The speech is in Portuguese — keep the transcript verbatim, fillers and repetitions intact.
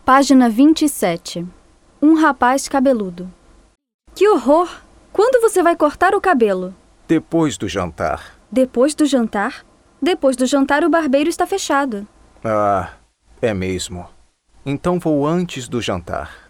Página vinte e sete. Um rapaz cabeludo. Que horror! Quando você vai cortar o cabelo? Depois do jantar. Depois do jantar? Depois do jantar o barbeiro está fechado. Ah, é mesmo. Então vou antes do jantar.